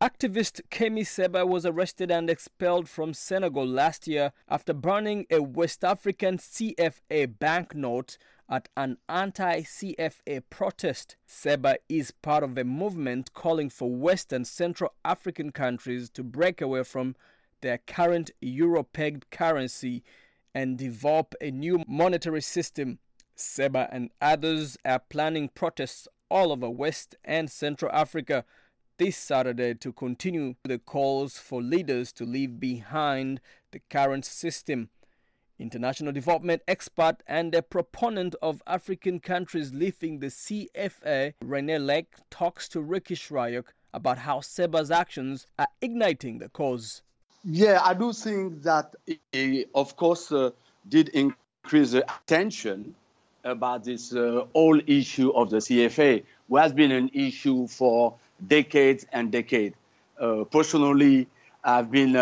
Activist Kemi Seba was arrested and expelled from Senegal last year after burning a West African CFA banknote at an anti-CFA protest. Seba is part of a movement calling for West and Central African countries to break away from their current euro-pegged currency and develop a new monetary system. Seba and others are planning protests all over West and Central Africa this Saturday to continue the calls for leaders to leave behind the current system. International development expert and a proponent of African countries leaving the CFA, Rene Lake, talks to Ricky Shryock about how Seba's actions are igniting the cause. Yeah, I do think that it, of course, did increase the attention about this whole issue of the CFA, which has been an issue for decades and decades. Personally, I've been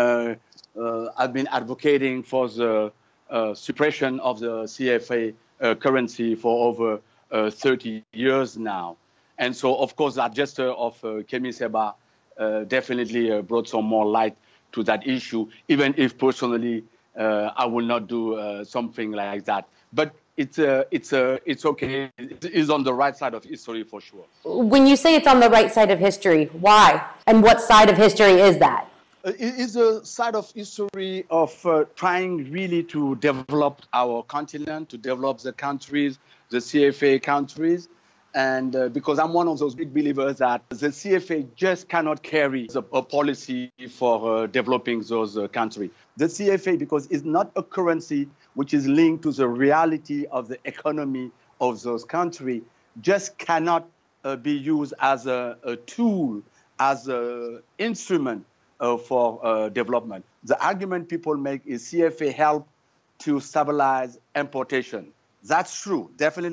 advocating for the suppression of the CFA currency for over 30 years now. And so, of course, that gesture of Kemi Seba definitely brought some more light to that issue, even if personally I will not do something like that. But it's okay. It is on the right side of history for sure. When you say it's on the right side of history, why? And what side of history is that? It is a side of history of trying really to develop our continent, to develop the countries, the CFA countries. And because I'm one of those big believers that the CFA just cannot carry a policy for developing those countries. The CFA, because it's not a currency which is linked to the reality of the economy of those countries, just cannot be used as a tool, as an instrument for development. The argument people make is CFA help to stabilize importation. That's true.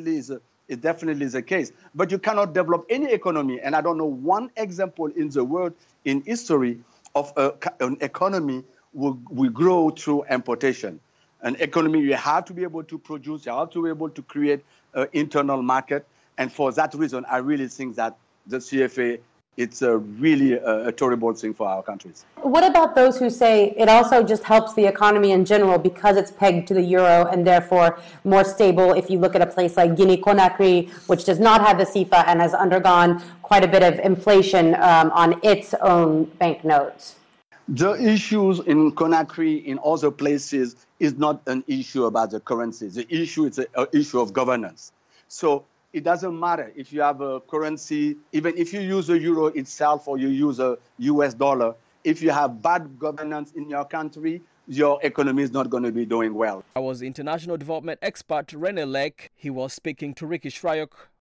It definitely is the case. But you cannot develop any economy, and I don't know one example in the world, in history, of an economy will grow through importation. An economy, you have to be able to produce, you have to be able to create an internal market. And for that reason, I really think that the CFA, it's really a terrible thing for our countries. What about those who say it also just helps the economy in general because it's pegged to the euro and therefore more stable if you look at a place like Guinea-Conakry, which does not have the CFA and has undergone quite a bit of inflation on its own banknotes? The issues in Conakry, in other places, is not an issue about the currency. The issue is an issue of governance. So it doesn't matter if you have a currency, even if you use the euro itself or you use a US dollar, if you have bad governance in your country, your economy is not going to be doing well. I was international development expert Rene Lake. He was speaking to Ricky Shryock